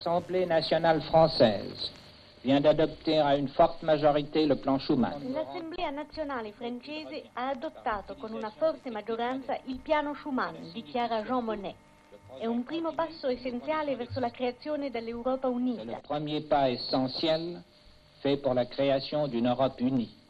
L'Assemblée nationale française vient d'adopter à une forte majorité le plan Schuman. L'Assemblea nazionale francese ha adottato con una forte maggioranza il piano Schuman, dichiara Jean Monnet. È un primo passo essenziale verso la creazione dell'Europa unita. C'est le premier pas essentiel fait pour la création d'une Europe unie.